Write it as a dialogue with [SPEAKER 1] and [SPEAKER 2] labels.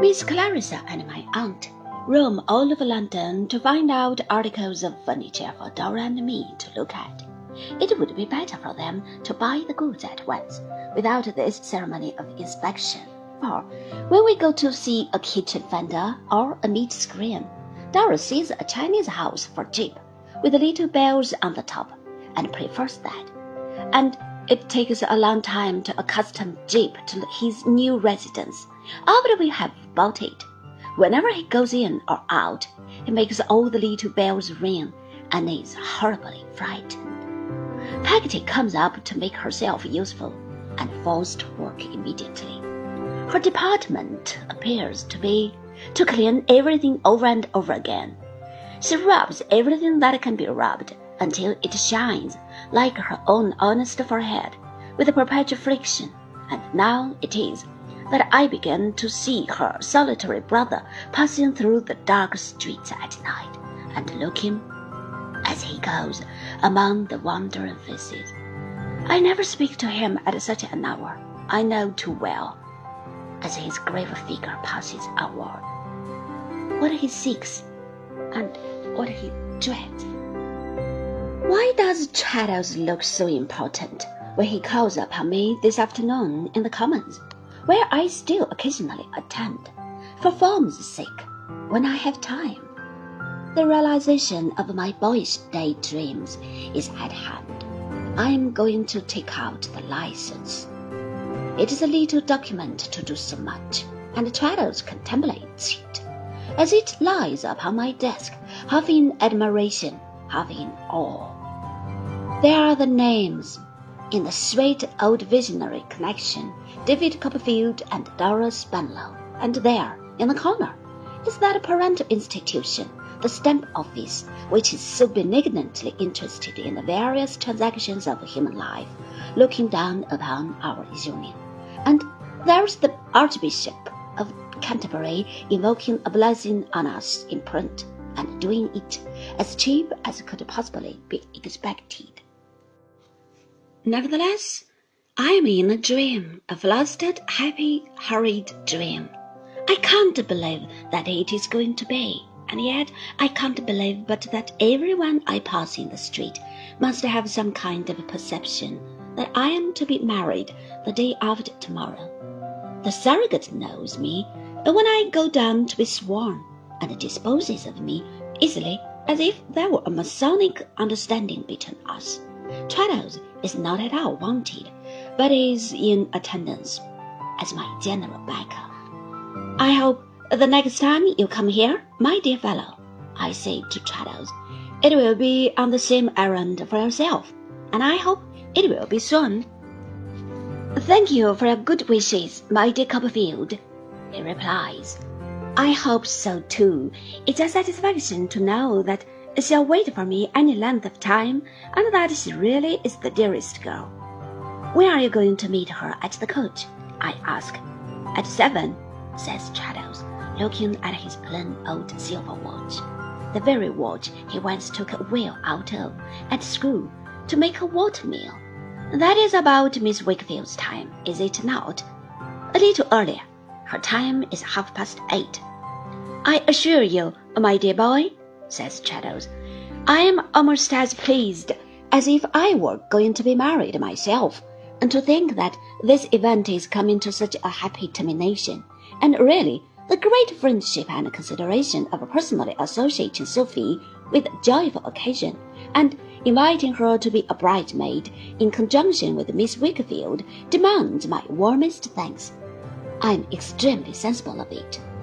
[SPEAKER 1] Miss Clarissa and my aunt roam all over London to find out articles of furniture for Dora and me to look at. It would be better for them to buy the goods at once, without this ceremony of inspection. For when we go to see a kitchen fender or a meat screen, Dora sees a Chinese house for cheap, with little bells on the top, and prefers that. And it takes a long time to accustom Jip to his new residence. After we have bought it, whenever he goes in or out, he makes all the little bells ring and is horribly frightened. Peggotty comes up to make herself useful and falls to work immediately. Her department appears to be to clean everything over and over again. She rubs everything that can be rubbed until it shines like her own honest forehead with a perpetual friction, and now it is that I begin to see her solitary brother passing through the dark streets at night and looking as he goes among the wandering faces. I never speak to him at such an hour, I know too well, as his grave figure passes onward, what he seeks and what he dreads. Why does Traddles look so important when he calls upon me this afternoon in the Commons, where I still occasionally attend, for form's sake, when I have time? The realization of my boyish daydreams is at hand. I am going to take out the license. It is a little document to do so much, and Traddles contemplates it as it lies upon my desk, half in admiration, half in awe. There are the names, in the sweet old visionary connection, David Copperfield and Dora Spenlow, and there, in the corner, is that parental institution, the Stamp Office, which is so benignantly interested in the various transactions of human life, looking down upon our union. And there's the Archbishop of Canterbury invoking a blessing on us in print, and doing it as cheap as could possibly be expected. Nevertheless, I am in a dream, a flustered, happy, hurried dream. I can't believe that it is going to be, and yet I can't believe but that everyone I pass in the street must have some kind of perception that I am to be married the day after tomorrow. The surrogate knows me when I go down to be sworn, and disposes of me easily as if there were a Masonic understanding between us. Traddles is not at all wanted, but is in attendance as my general backer. I hope the next time you come here, my dear fellow, I say to Traddles, it will be on the same errand for yourself, and I hope it will be soon. Thank you for your good wishes, my dear Copperfield, he replies. I hope so too. It's a satisfaction to know that she'll wait for me any length of time, and that she really is the dearest girl. When are you going to meet her at the coach? I ask. At 7, says Traddles, looking at his plain old silver watch, the very watch he once took a wheel out of at school to make a watermill. That is about Miss Wakefield's time, is it not? A little earlier. Her time is 8:30. I assure you, my dear boy, says Traddles, I am almost as pleased as if I were going to be married myself, and to think that this event is coming to such a happy termination, and really the great friendship and consideration of personally associating Sophie with a joyful occasion, and inviting her to be a bridesmaid in conjunction with Miss Wakefield demands my warmest thanks. I am extremely sensible of it.